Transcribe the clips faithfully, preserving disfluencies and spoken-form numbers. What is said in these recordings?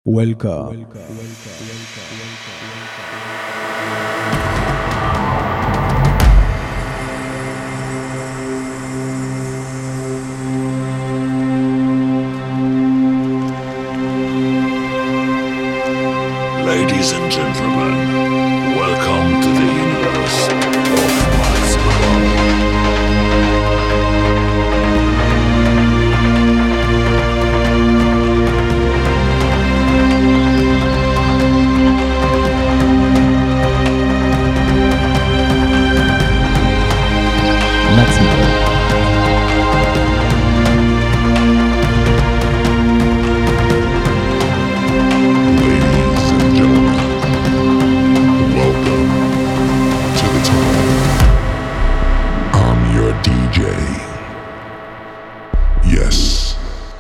Welcome. Ladies and gentlemen, welcome to the universe of Max Above. Maximum. Ladies and gentlemen, welcome to the tunnel. I'm your D J. Yes.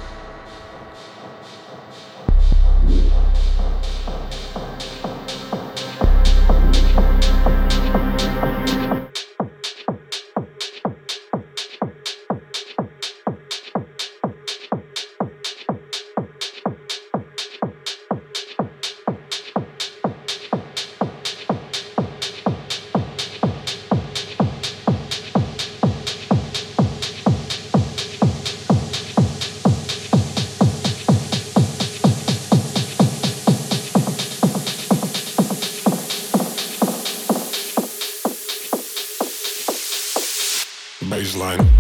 Baseline.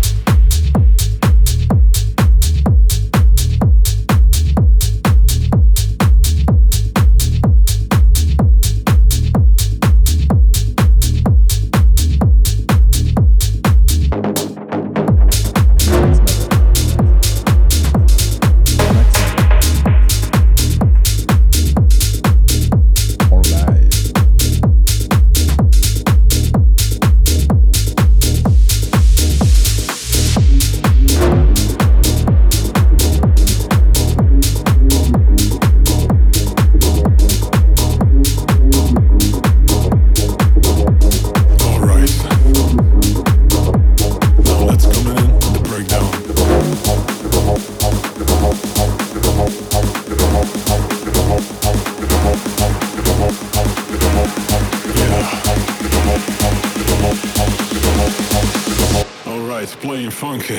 It's playing funky.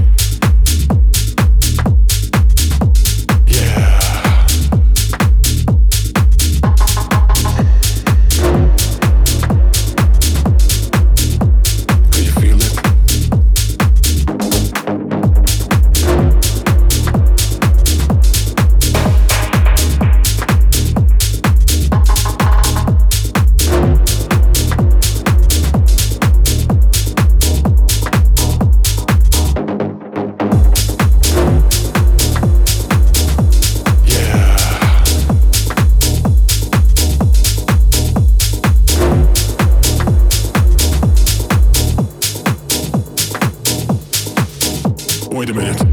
Wait a minute.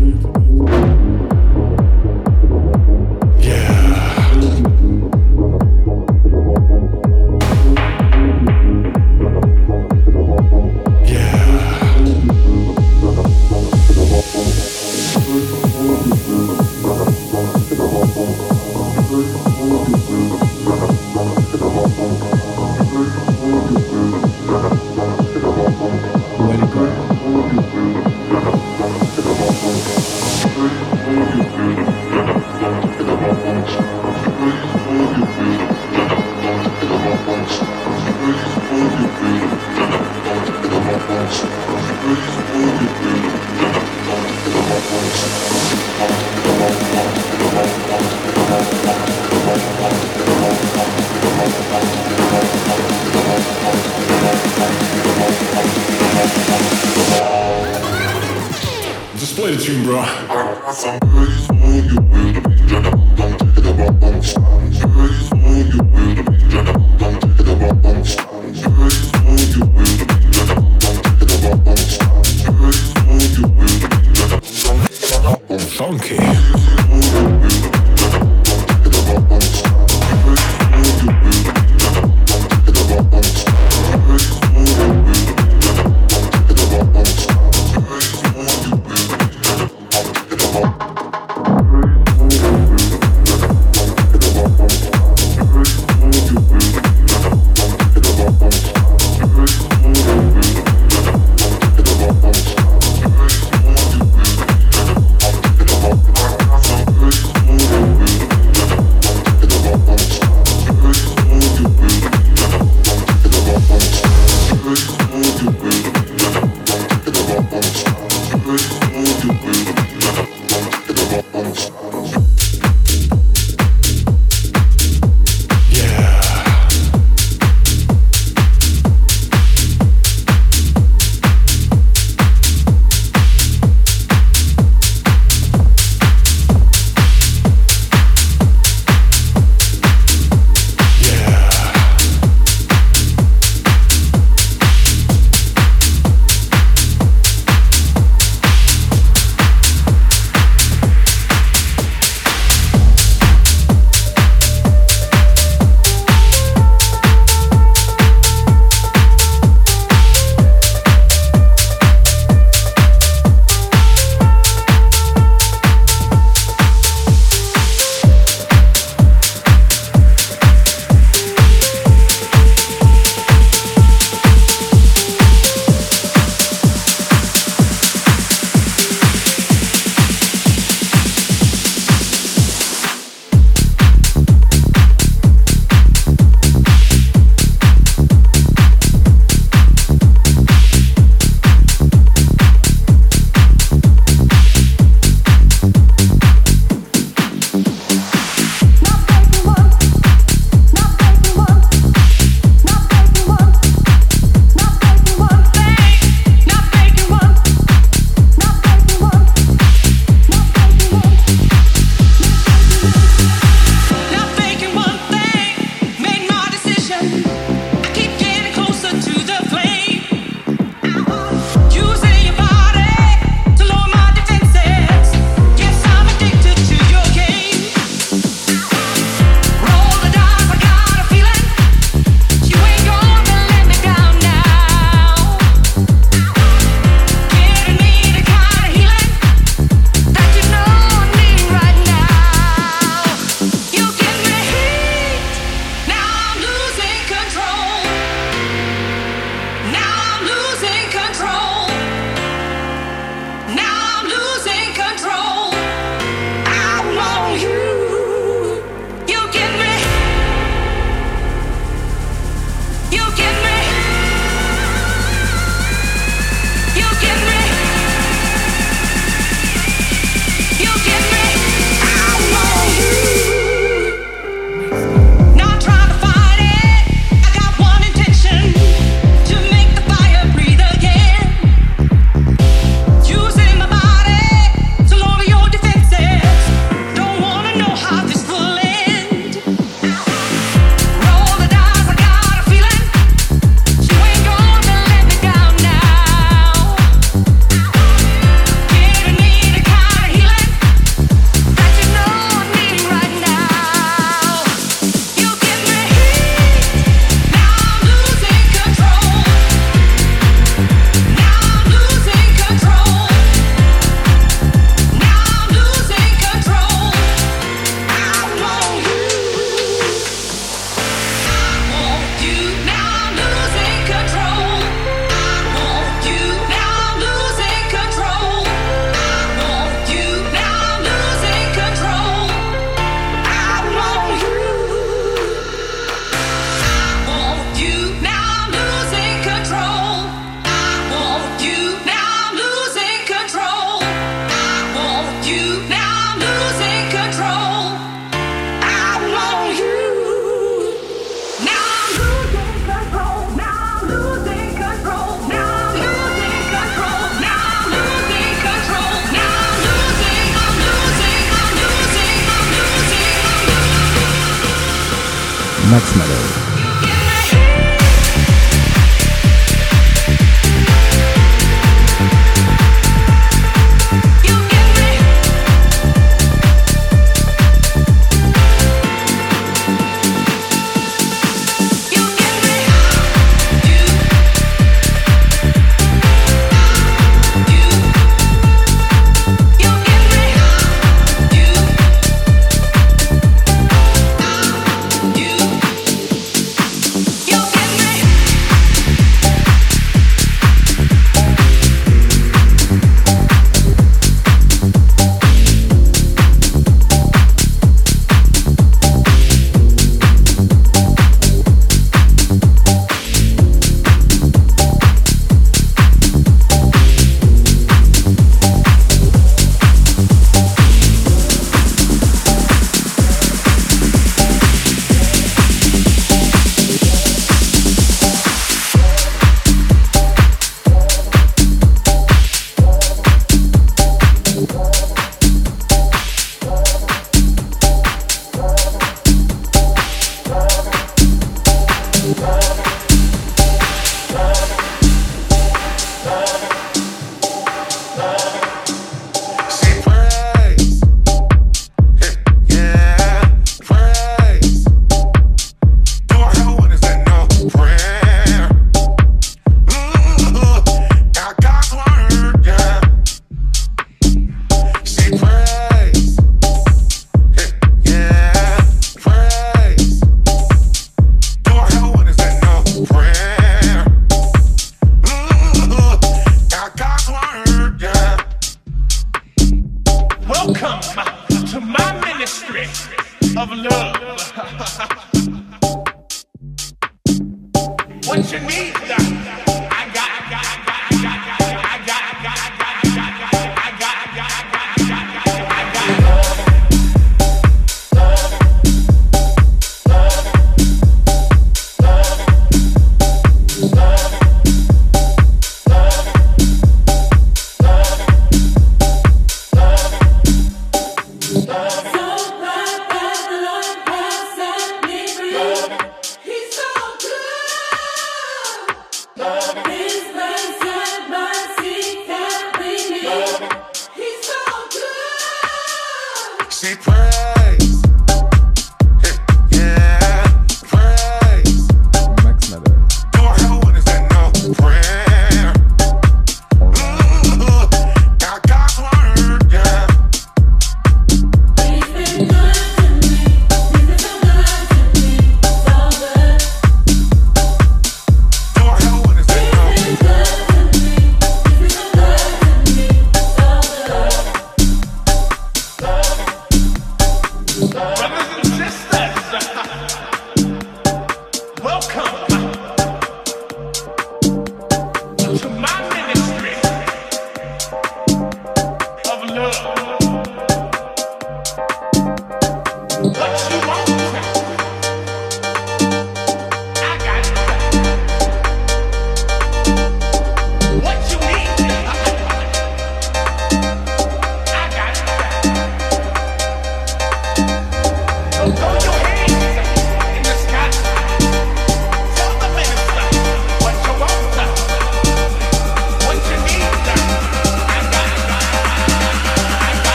Just play the tune, bro. Funky. Max Malloy.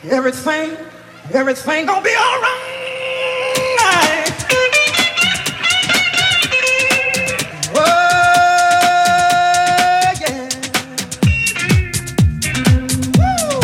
Everything, everything gonna be all right. Oh, yeah. Woo.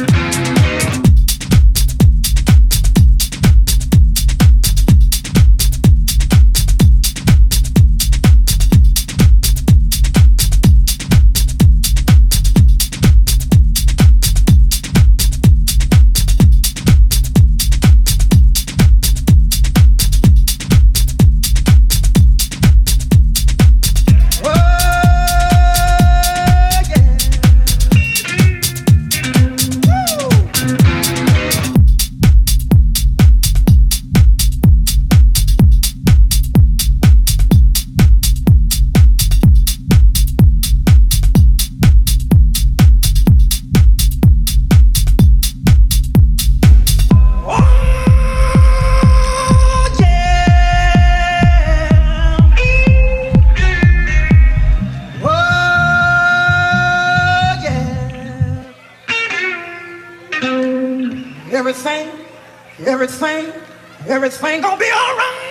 Everything, everything, everything gonna be all right.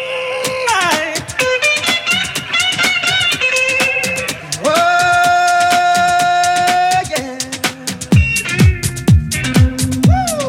Oh, yeah. Woo.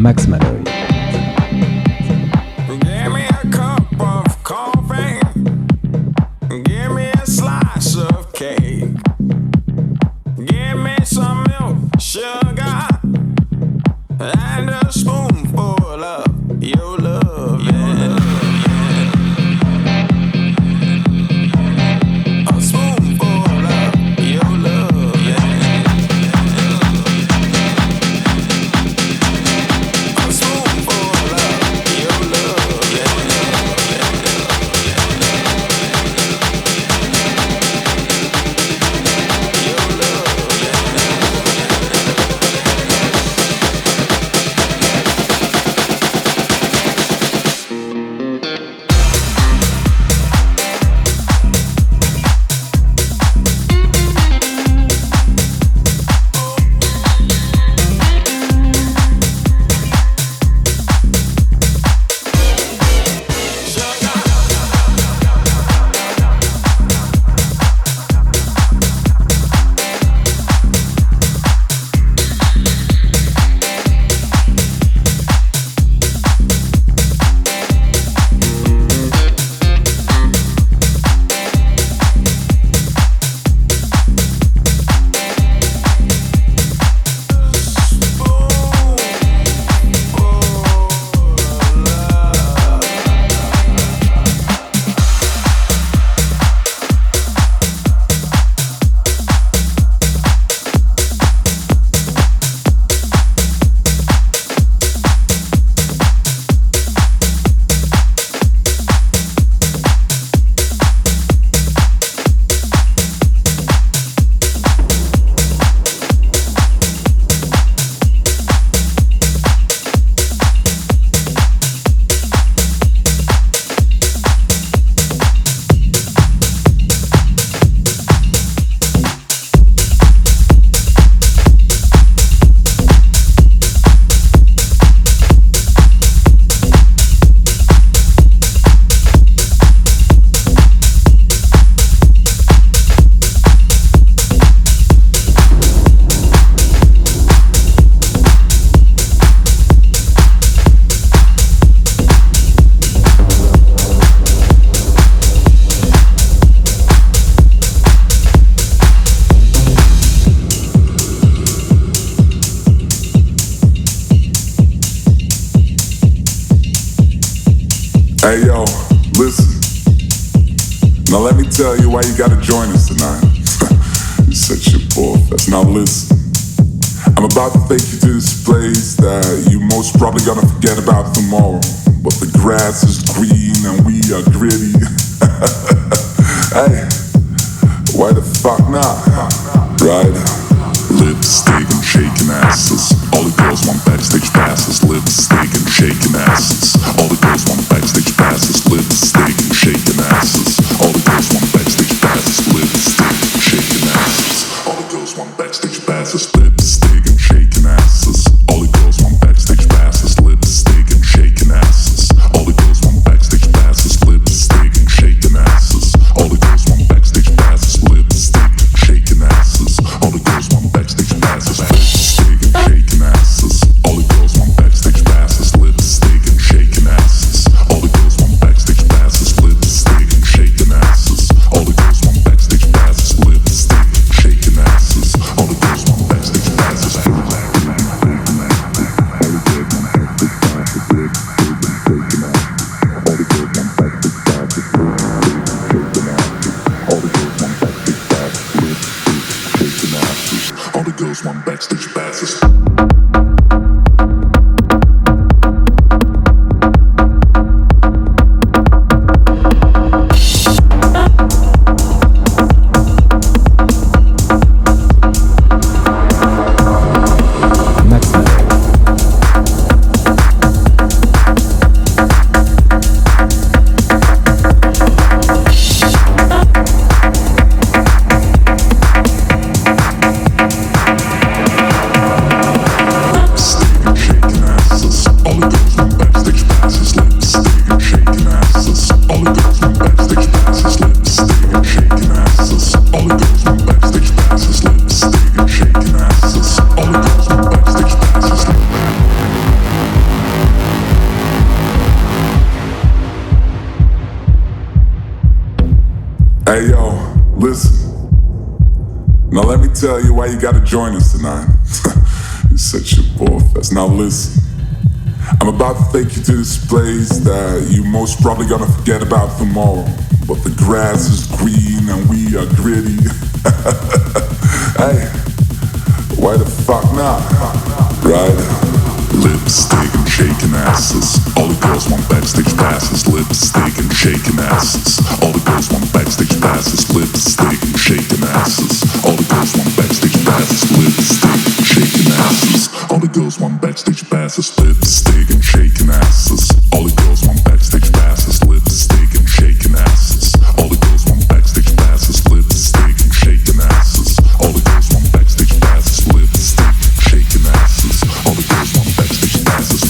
Max Malloy. Give me a cup of coffee. Give me a slice of cake. Give me some milk, sugar, and a spoonful of your love. Yeah. A spoonful of your love. Yeah. A spoonful of your love. Hey yo, listen. Now let me tell you why you gotta join us tonight. You set your bullfest. Now listen. I'm about to take you to this place that you most probably gonna forget about tomorrow. But the grass is green and we are gritty. Hey, why the fuck not? Right? Lipstick and shaking asses. All the girls want backstage passes. Lipstick and shaking asses. All the girls want backstage passes. Lipstick and shaking asses. All the girls want backstage passes. Lipstick and shaking asses. All the girls want backstage passes. Lipstick and shaking asses. All the girls want backstage passes. Lipstick and shaking Hey yo, listen. Now let me tell you why you gotta join us tonight. You're such a bullfest. Now listen. I'm about to take you to this place that you most probably gonna forget about tomorrow. But the grass is green and we are gritty. Hey, why the fuck not? Right? Lipstick and shaking asses. All the girls want backstage passes. Lipstick and shaking asses. All the girls want backstage passes. Lipstick and shaking asses. All the girls want backstage passes. Lipstick and shaking asses. All the girls want backstage passes. Lipstick and shaking asses. All the girls want backstage passes. Lipstick and shaking asses. All the girls want backstage passes. Lipstick and shaking asses. All the girls want backstage passes. Lipstick and shaking asses. All the girls want backstage passes.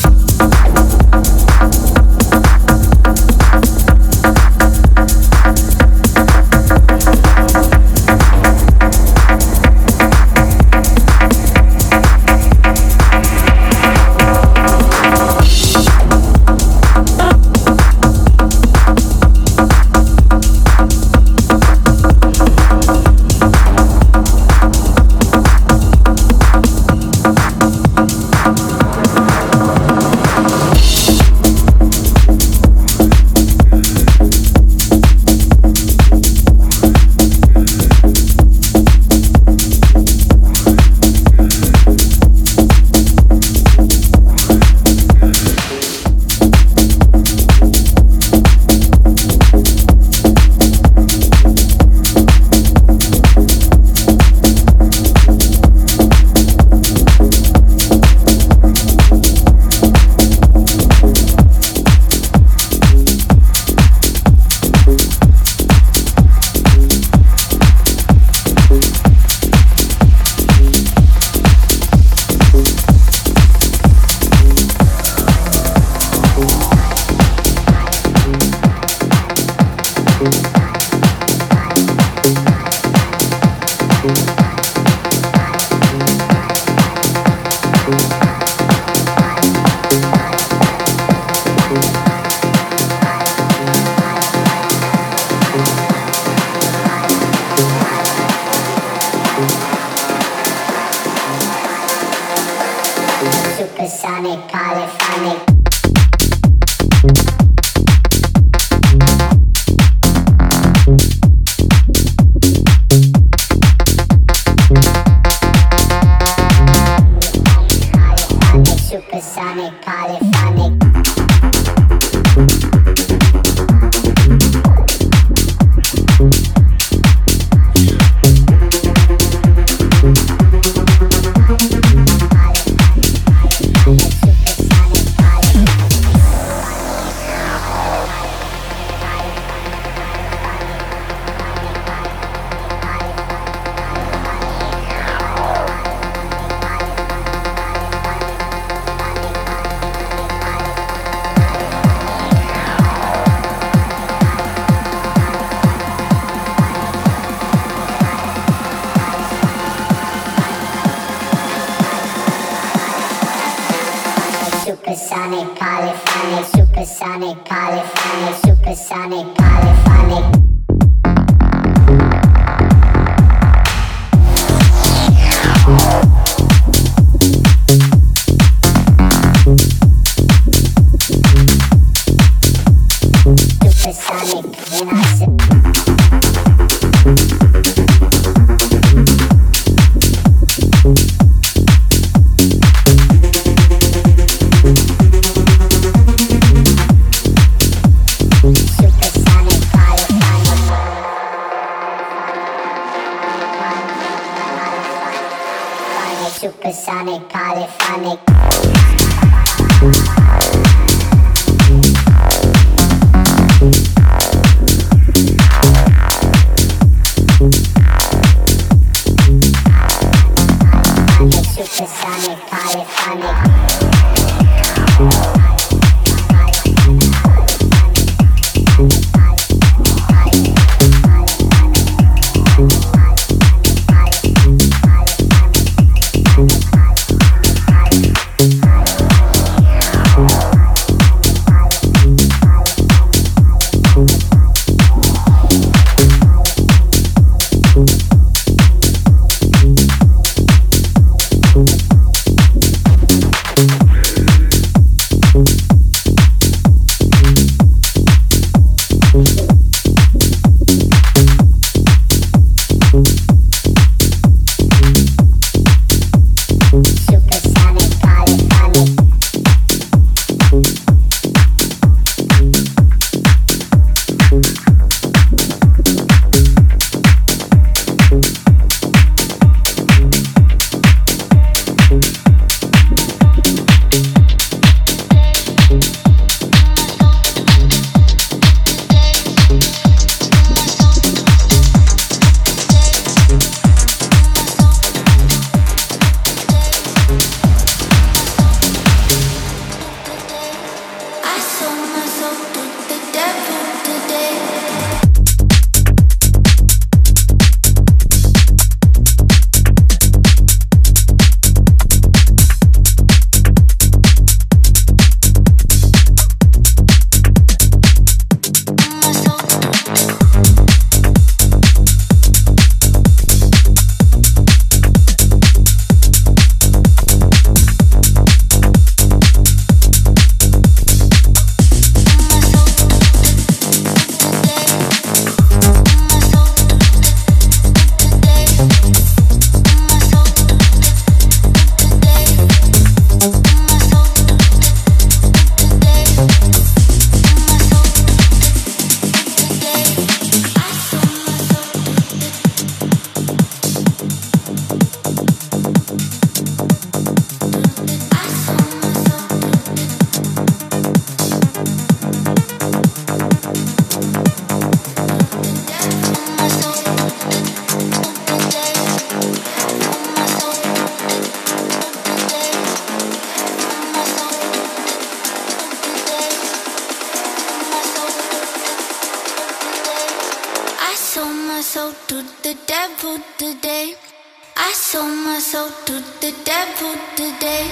Supersonic, polyphonic. Supersonic, polyphonic. Supersonic, polyphonic, supersonic, polyphonic, supersonic, polyphonic. Supersonic, when I say supersonic, polyphonic. Supersonic, polyphonic. soul to the devil today. I sold my soul to the devil today.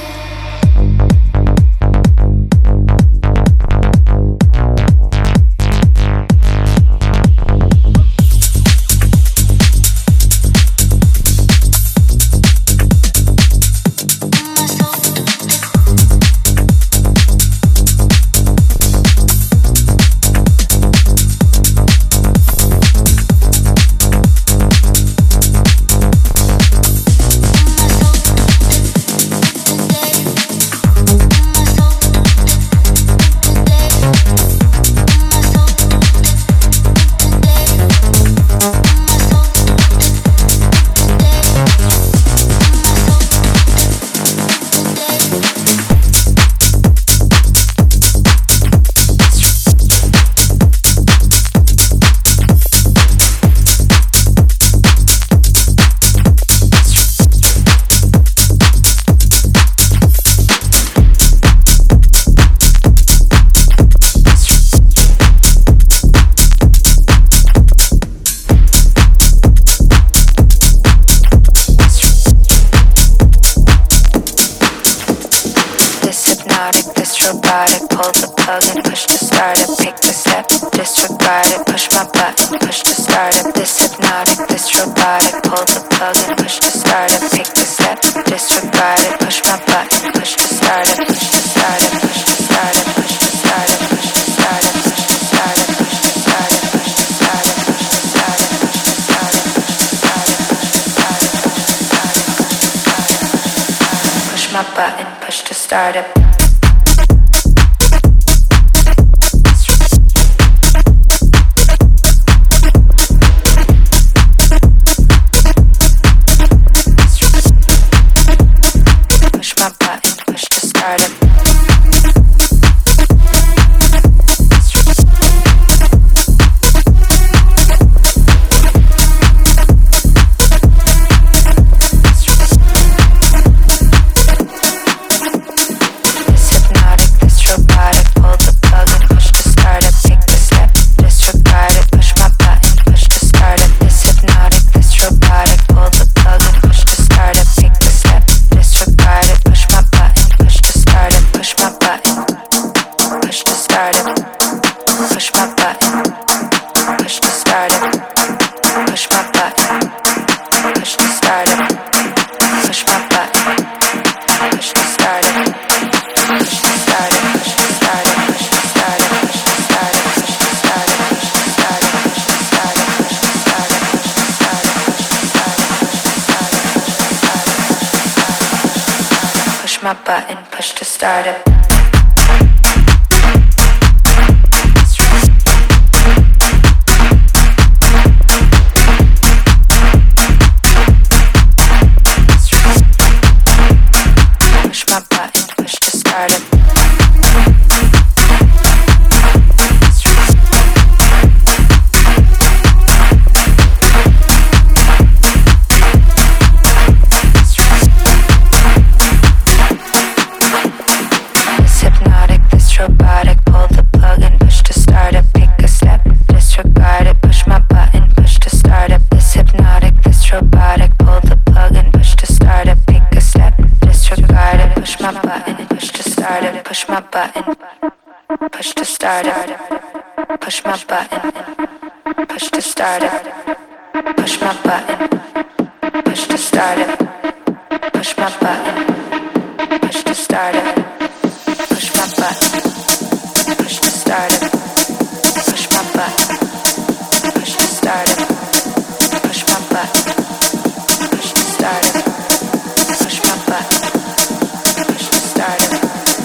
My button, push to start it. Push my button, push to start it. Push my button, push to start it. Push my button, push to start it. Push my button, push to start it. Push my button, push to start it. Push my button, push to start it. Push my button, push to start it. Push my button, push to start it. Push my button, push to start it.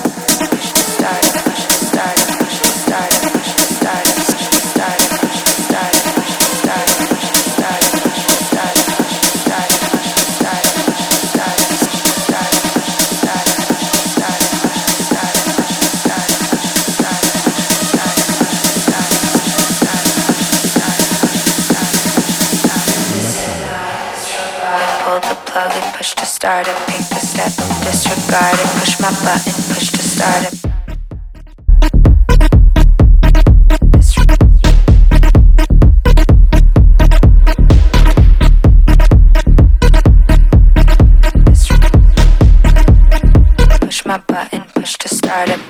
Push to start it, pick the step, disregard it, push my button, push to start it. button, push to start it.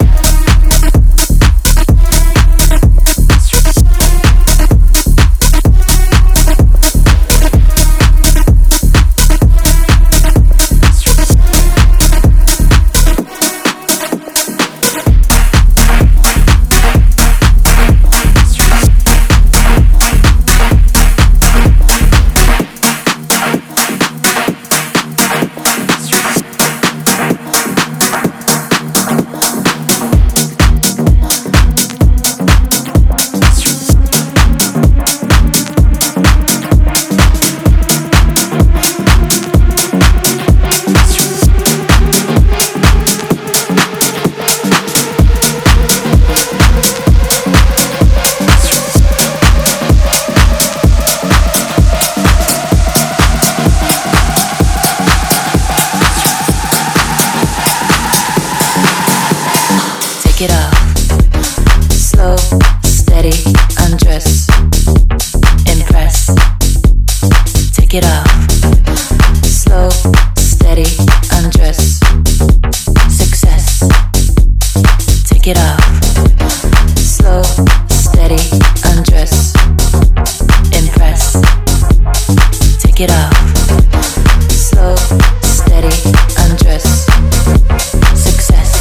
Take it off, slow, steady, undress, impress. Take it off, slow, steady, undress, success. Take it off, slow, steady, undress, impress. Take it off, slow, steady, undress, success.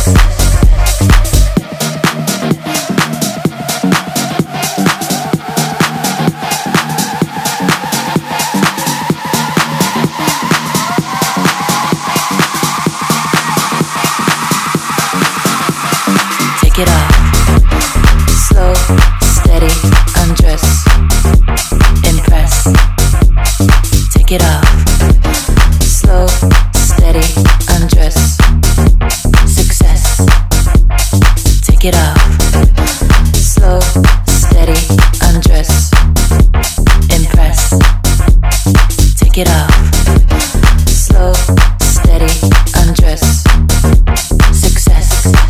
Take it off, slow, steady, undress, impress. Take it off, slow, steady, undress, success. Take it off, slow, steady, undress, impress. Take it off, slow, steady, undress, success.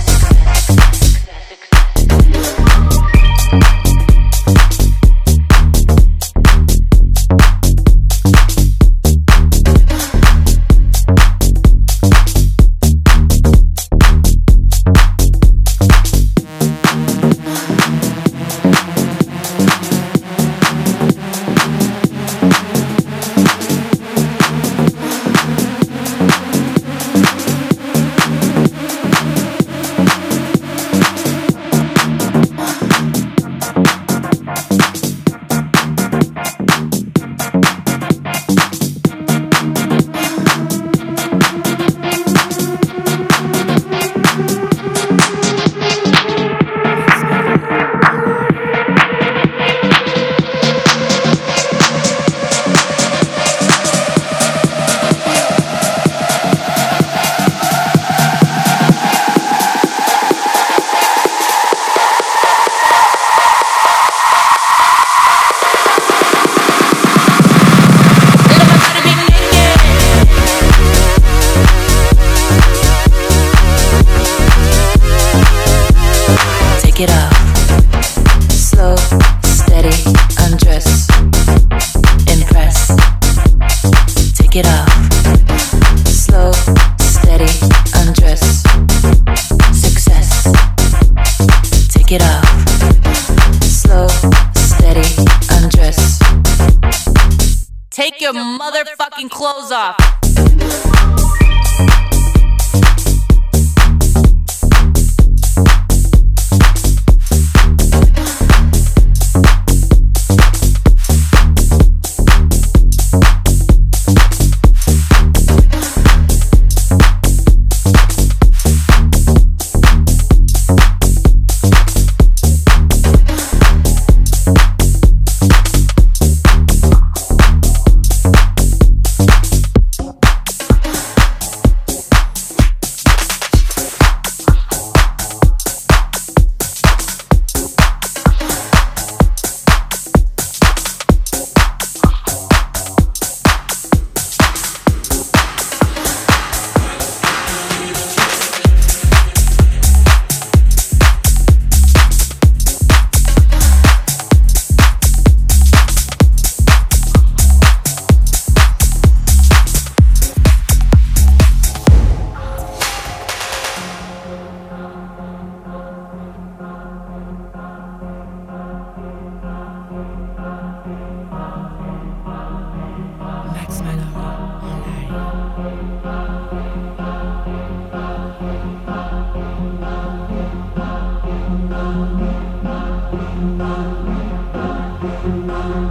Take it off, slow, steady, undress, impress. Take it off, slow, steady, undress, success. Take it off, slow, steady, undress. Take your motherfucking clothes off.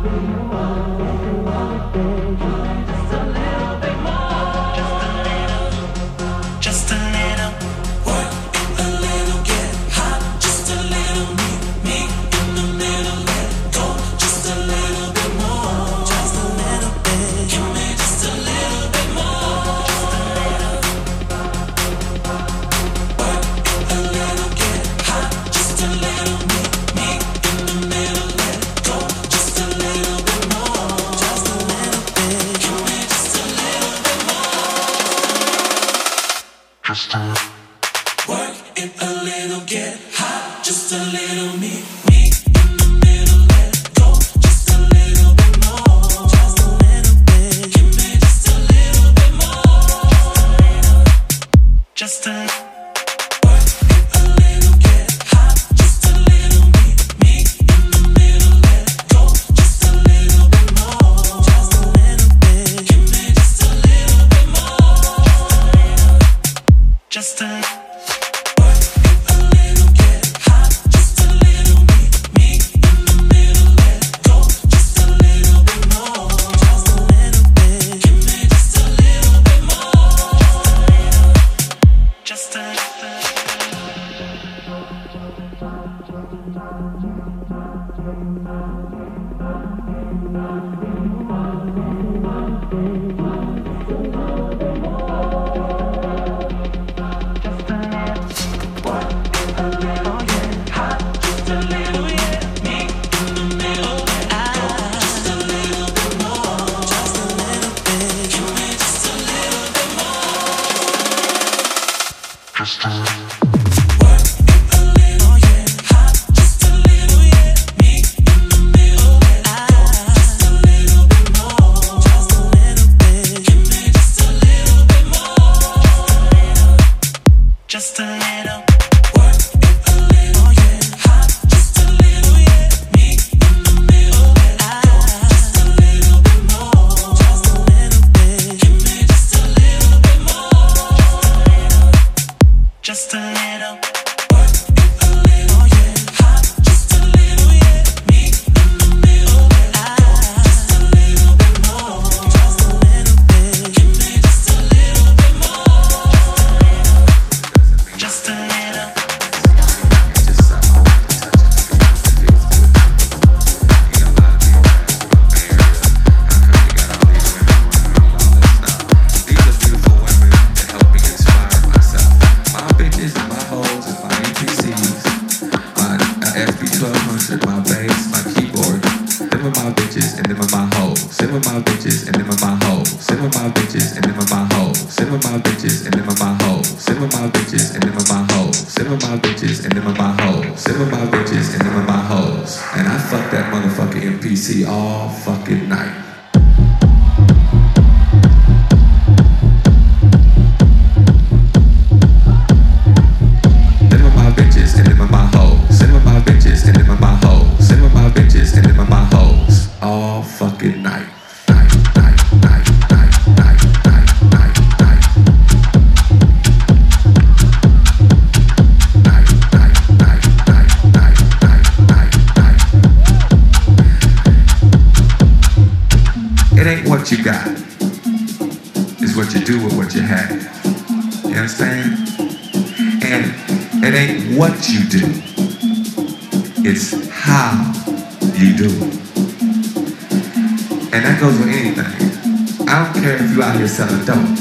Selling dope,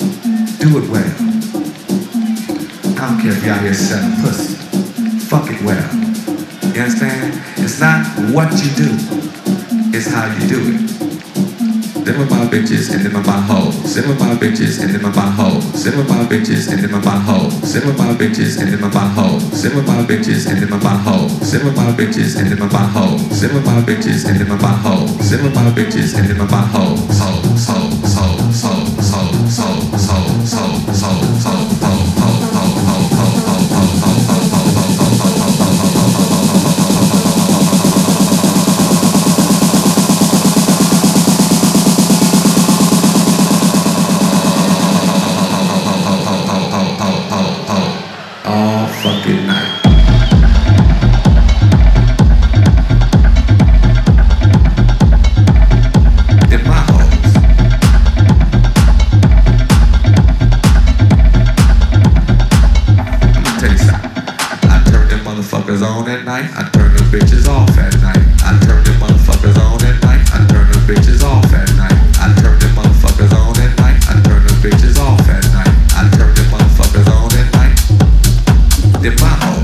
do it well. I don't care if you're out here selling pussy, fuck it well. You understand? It's not what you do, it's how you do it. Them are my bitches and them are my hoes. Them are my bitches and them are my hoes. Them are my bitches and them are my hoes. Them are my bitches and them are my hoes. Them are my bitches and them are my hoes. Them are my bitches and them are my hoes. Them are my bitches and them are my hoes. Them are my bitches and them are my hoes. Hoes, hoes, hoes, hoes, hoes, hoes, hoes, hoes, hoes, hoes, hoes. motherfuckers on at night. I turn the bitches off at night. I turn the motherfuckers on at night. I turn the bitches off at night. I turn the motherfuckers on at night. I turn the bitches off at night. I turn the motherfuckers on at night. They're my hoes.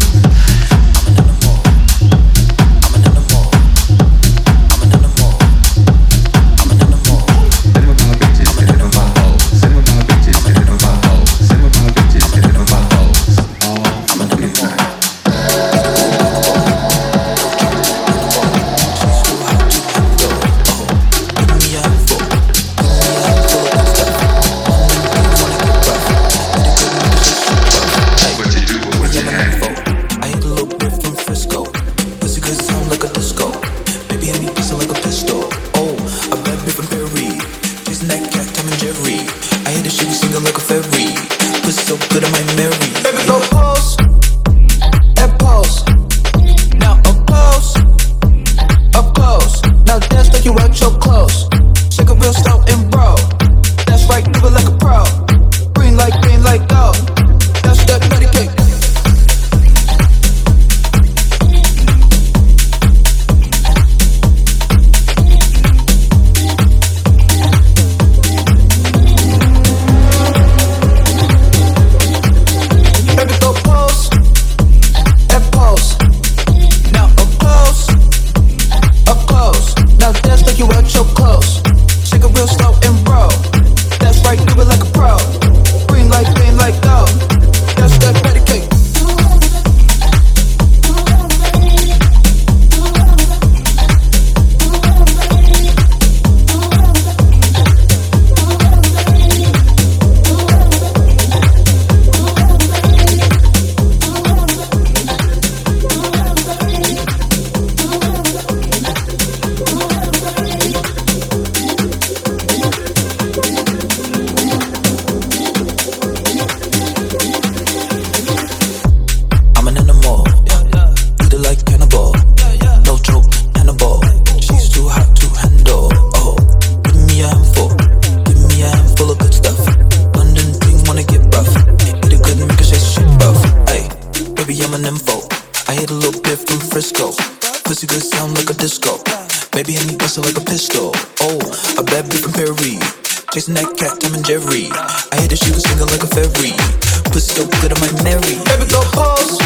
Chasing that cat, Tom and Jerry. I hear that she was singing like a fairy. Pussy so good, I might marry. Baby, go pause,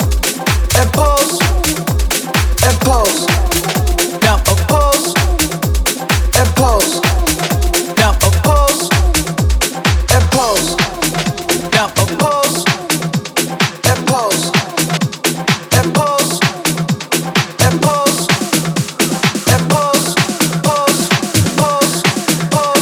and pause, and pause. Now a pause, and pause. Now a pause, and pause. Now a pause, and pause, and pause, and pause, and pause, pause, pause, pause.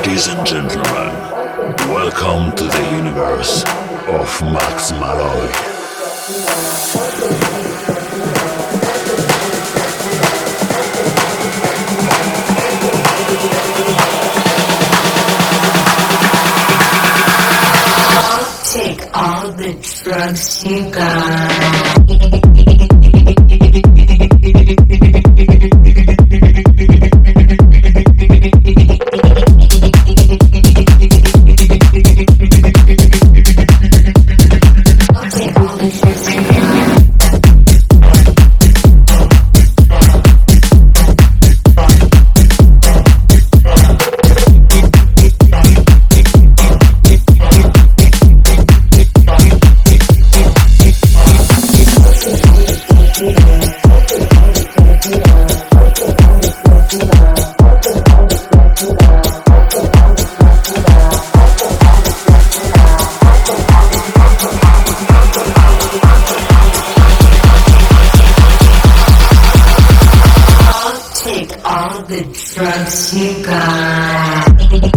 Ladies and gentlemen, welcome to the universe of Max Malloy. Take all the drugs you got. Drugs you got.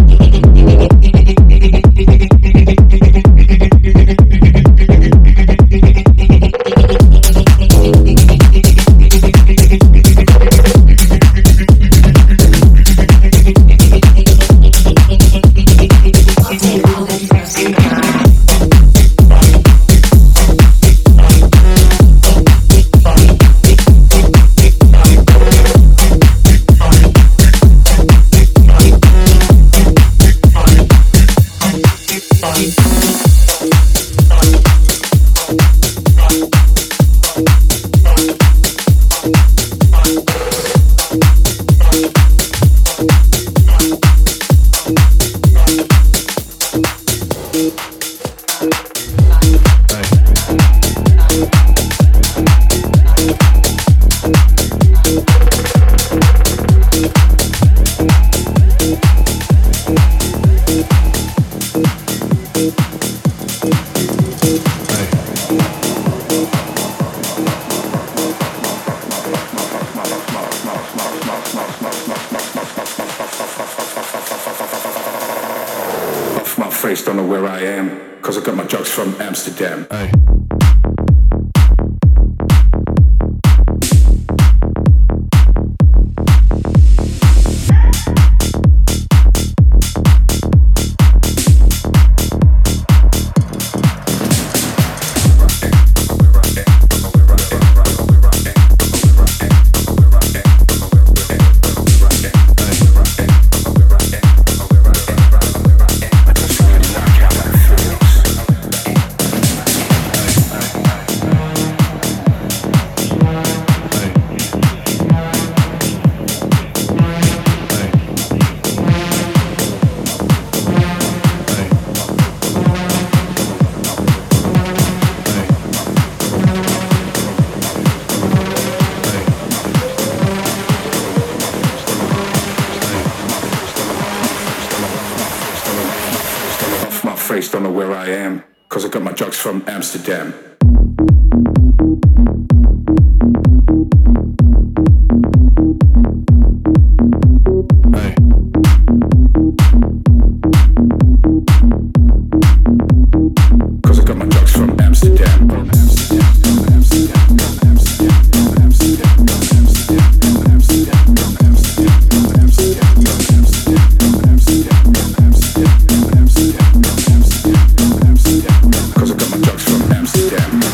Face, don't know where I am, cause I got my drugs from Amsterdam. Aye. Don't know where I am, cause I got my drugs from Amsterdam. Cause I got my drugs from Amsterdam. Cause I got my drugs from Amsterdam.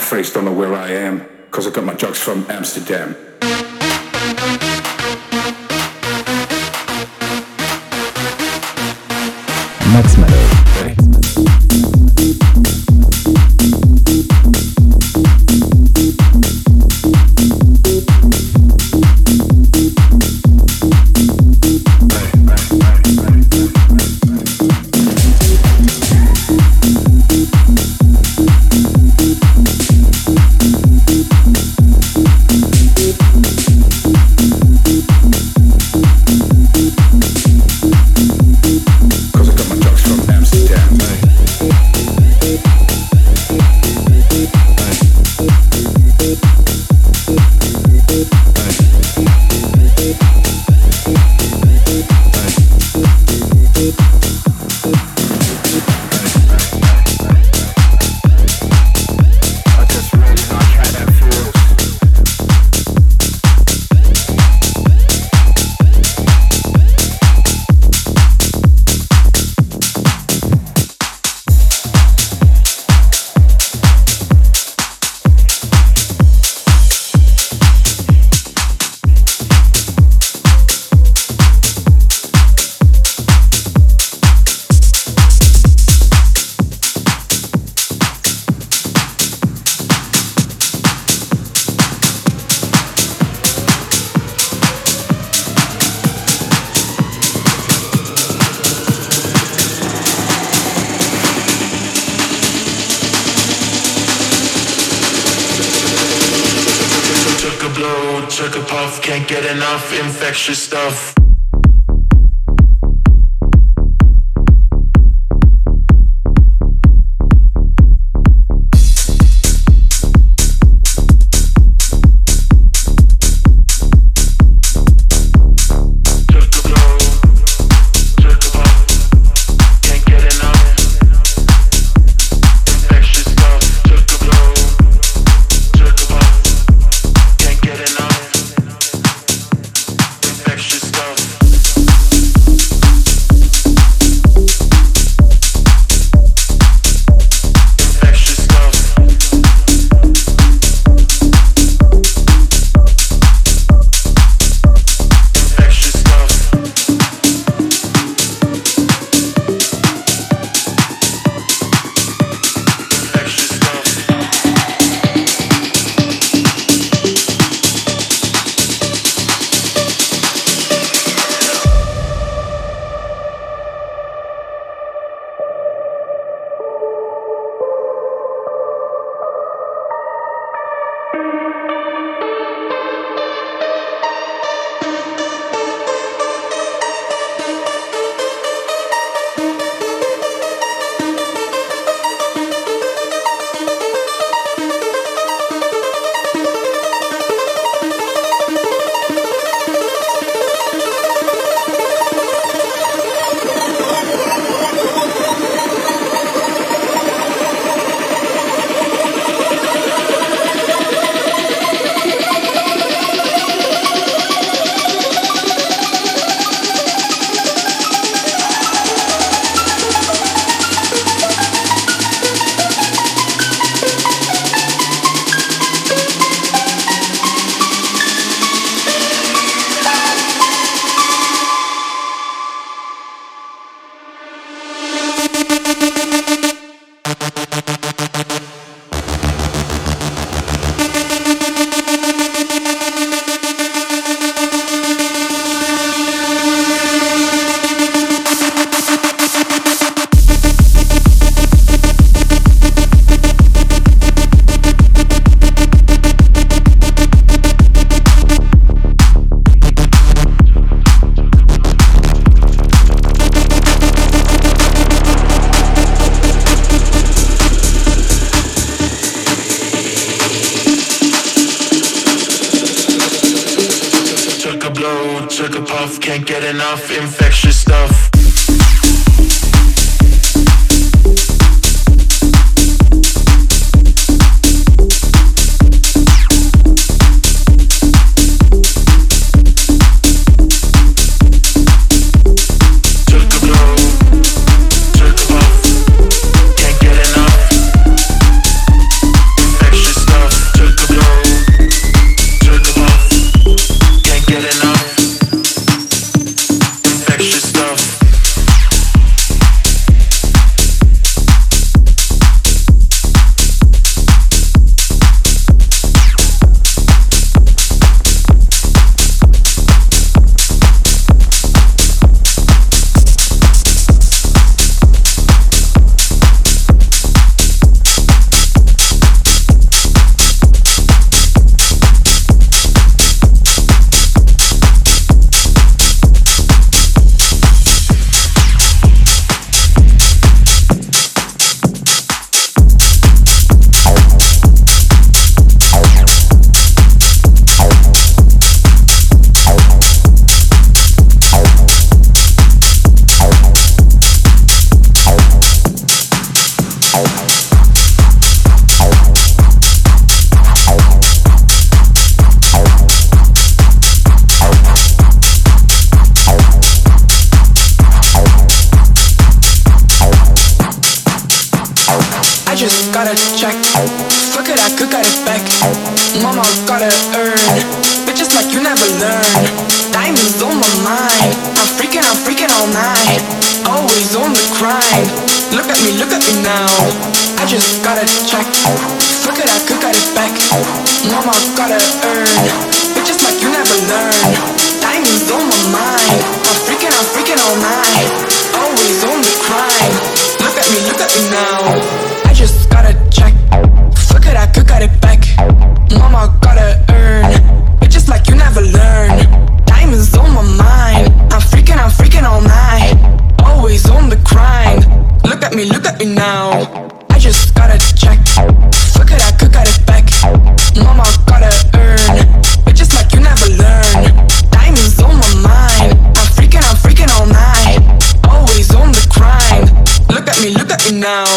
face, don't know where I am, cause I got my drugs from Amsterdam. Max Malloy. Took a puff, can't get enough infectious stuff. Took a puff, can't get enough infectious stuff. Took a blow, took a puff, can't get enough infectious back. Mama gotta earn, bitches like you never learn. Diamonds on my mind, I'm freaking, I'm freaking all night. Always on the grind. Look at me, look at me now. I just got a check. Look at I could got it back. Mama gotta earn, bitches like you never learn. Diamonds on my mind, I'm freaking, I'm freaking all night. Always on the grind. Look at me, look at me now. I just got a check. Look at I could got it back. Mama gotta earn, bitches like you never learn. Diamonds on my mind, I'm freaking, I'm freaking all night. Always on the grind. Look at me, look at me now. I just got a check. Look at I could got it back. Mama gotta earn, bitches like you never learn. Diamonds on my mind, I'm freaking, I'm freaking all night. Always on the grind. Look at me, look at me now.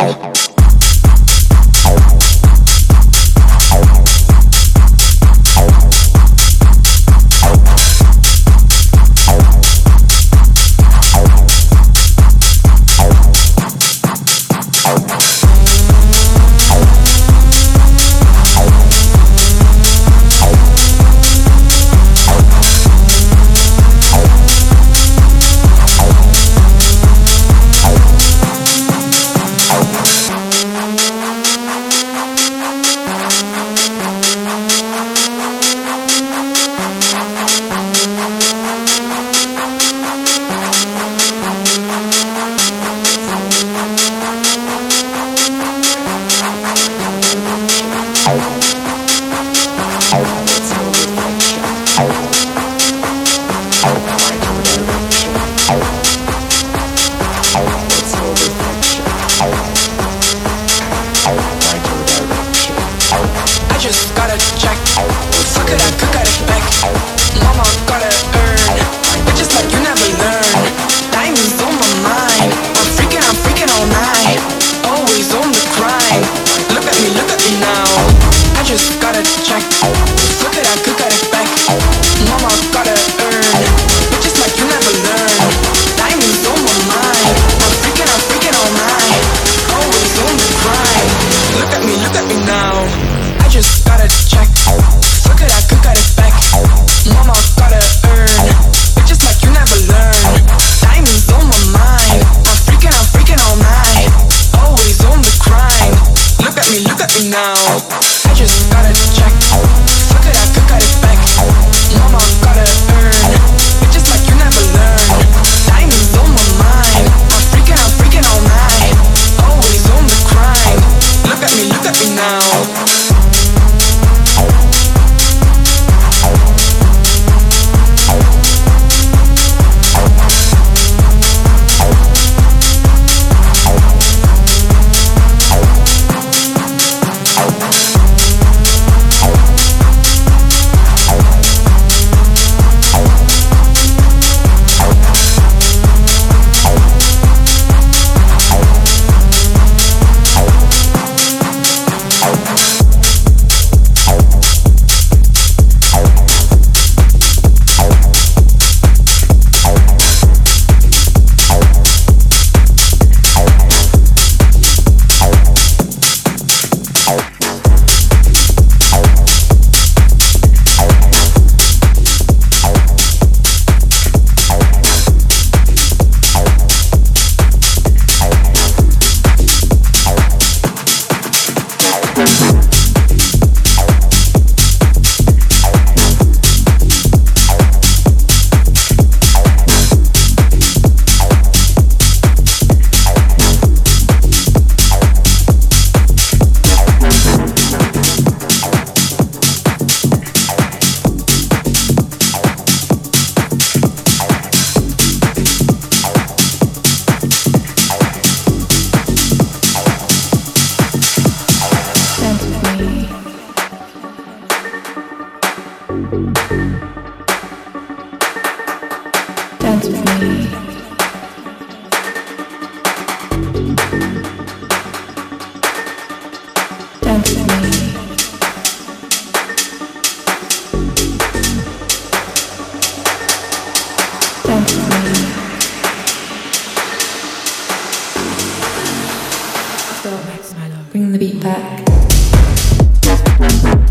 Bring the beat back.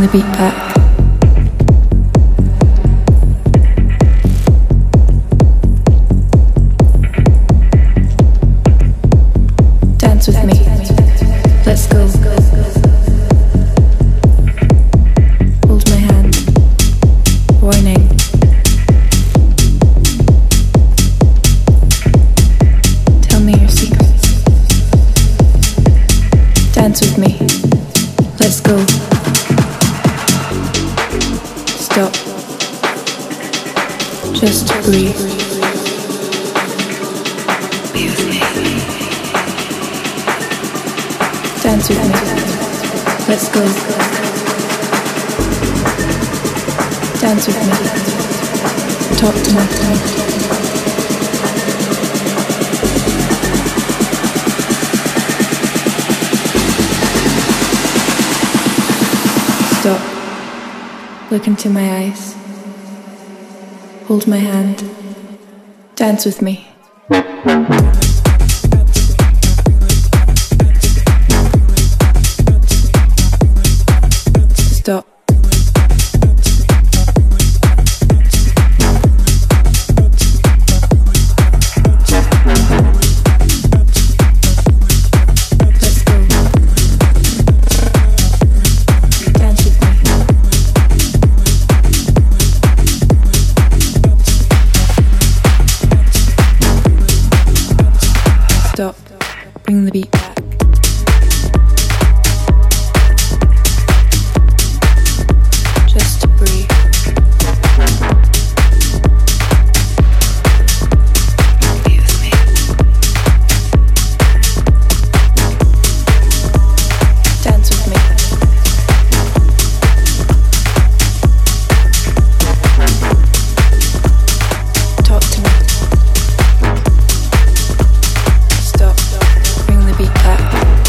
beat back. Dance with me. Let's go. Hold my hand. Warning. Tell me your secrets. Dance with me. Let's go. Stop. Just breathe. Be with me. Dance with me. Let's go. Dance with me. Talk to me. Stop. Look into my eyes. Hold my hand. Dance with me. Stop. Stop. Bring the beat back. Just breathe. Be with me. Dance with me. Talk to me. Stop. Bring the beat back.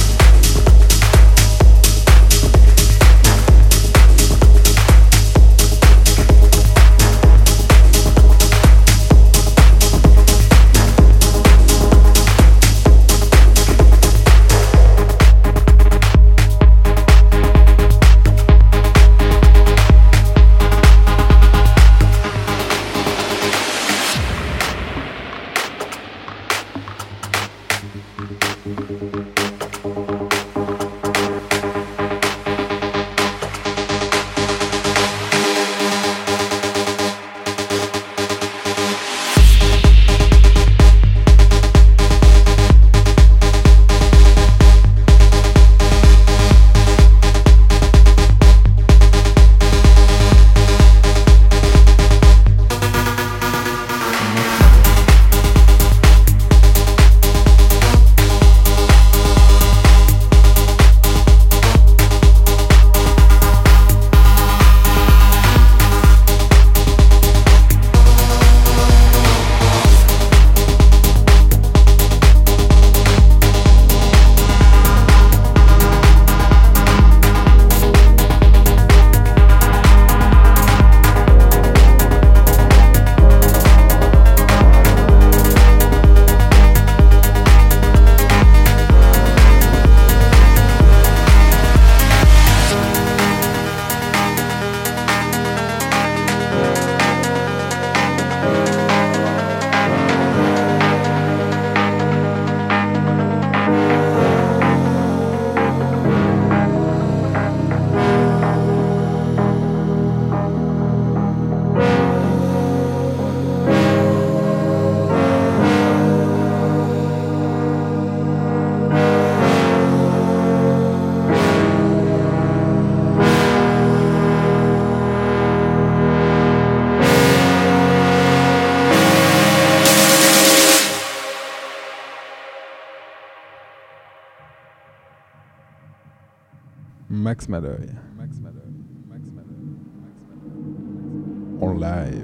Max Malloy. Max Malloy. Max Malloy. En live.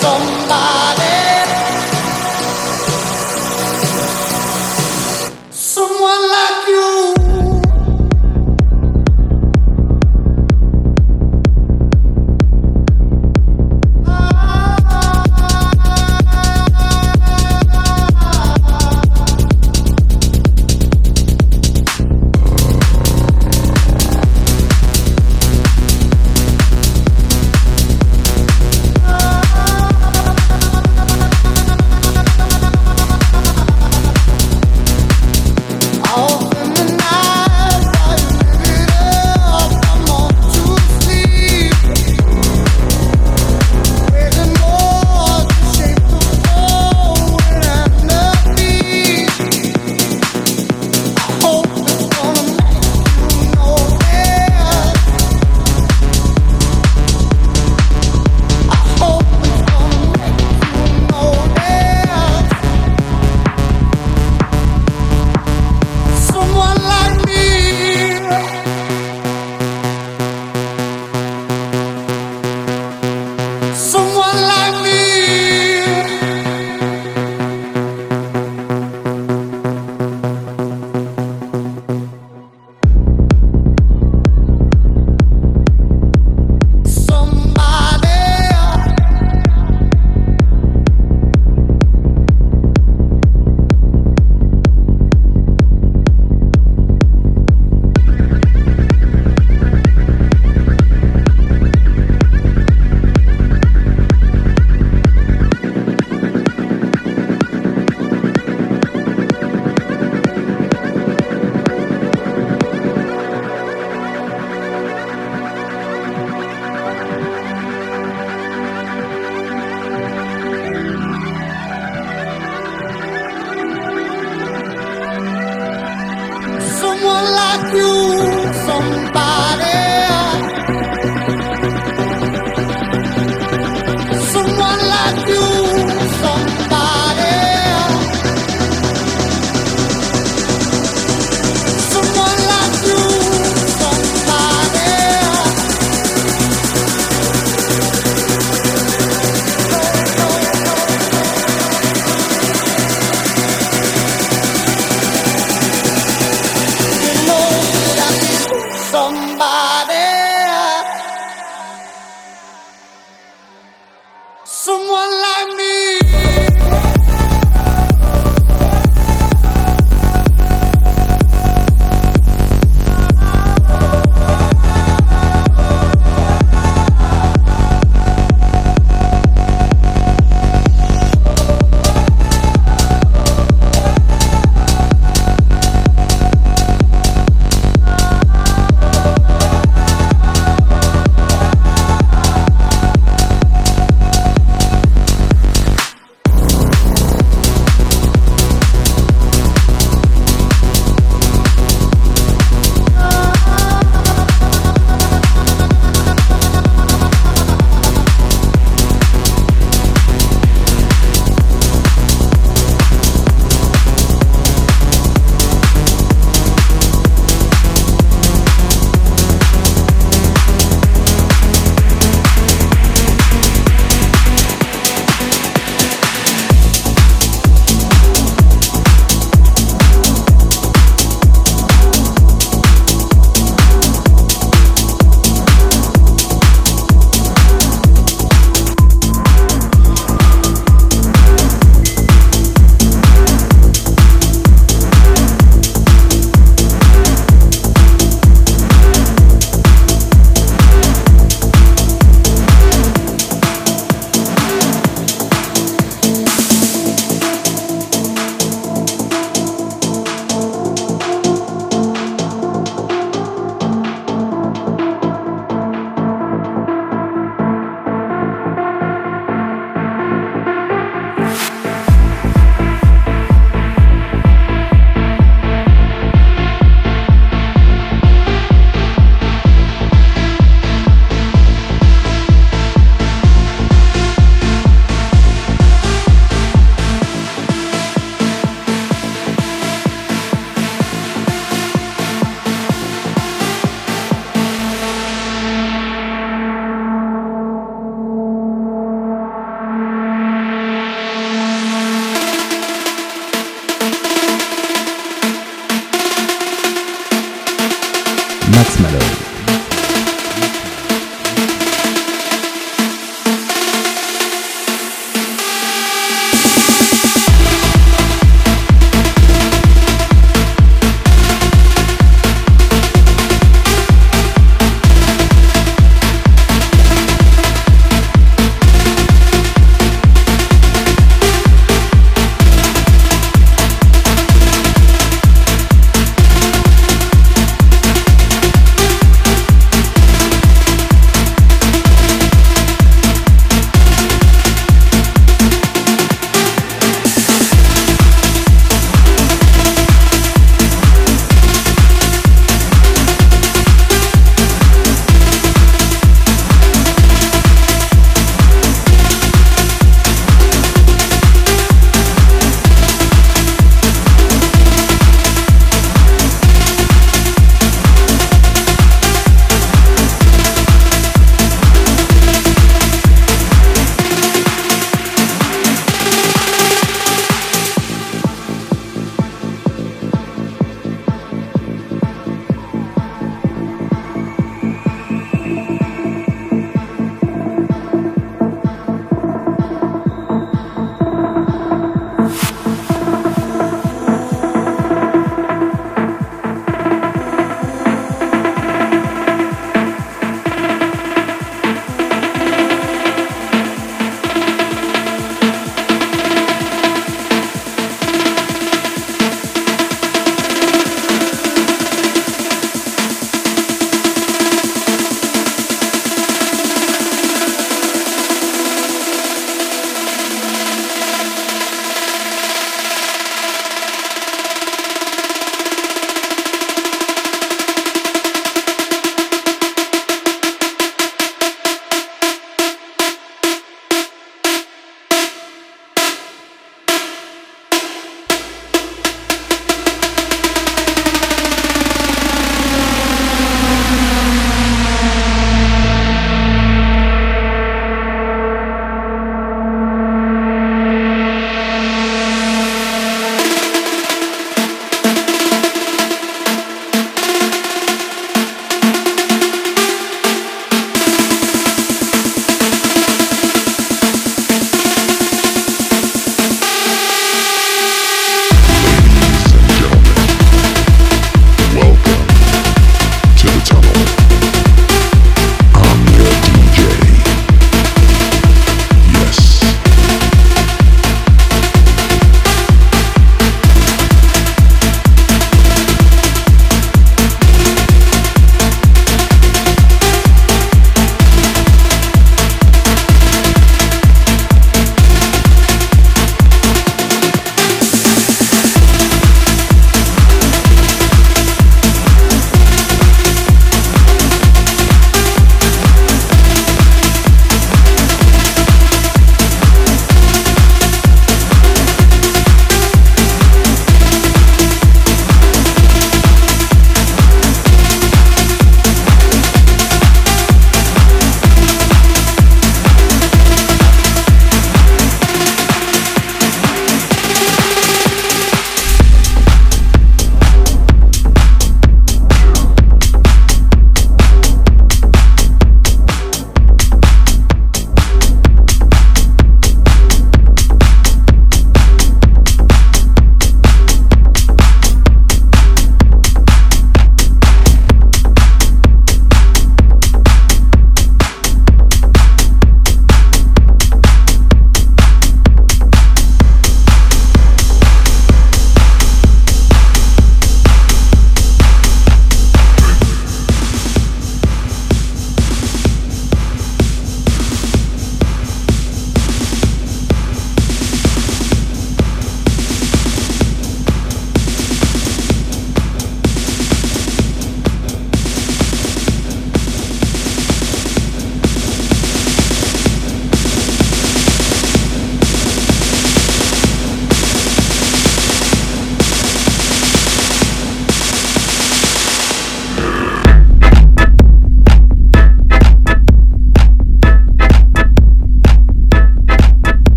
somebody, someone like you. Oh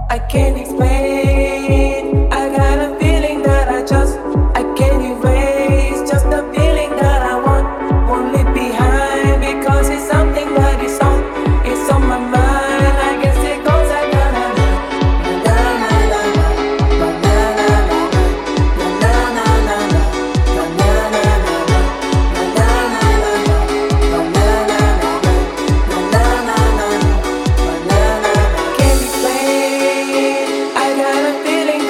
I can't explain. I got a feeling that I just, I can't erase. Just a feeling that I want, won't leave behind. Because it's something that is on, it's on my mind. I guess it goes like na na na na na na na na na na na na. Can't explain. I got a feeling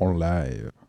live.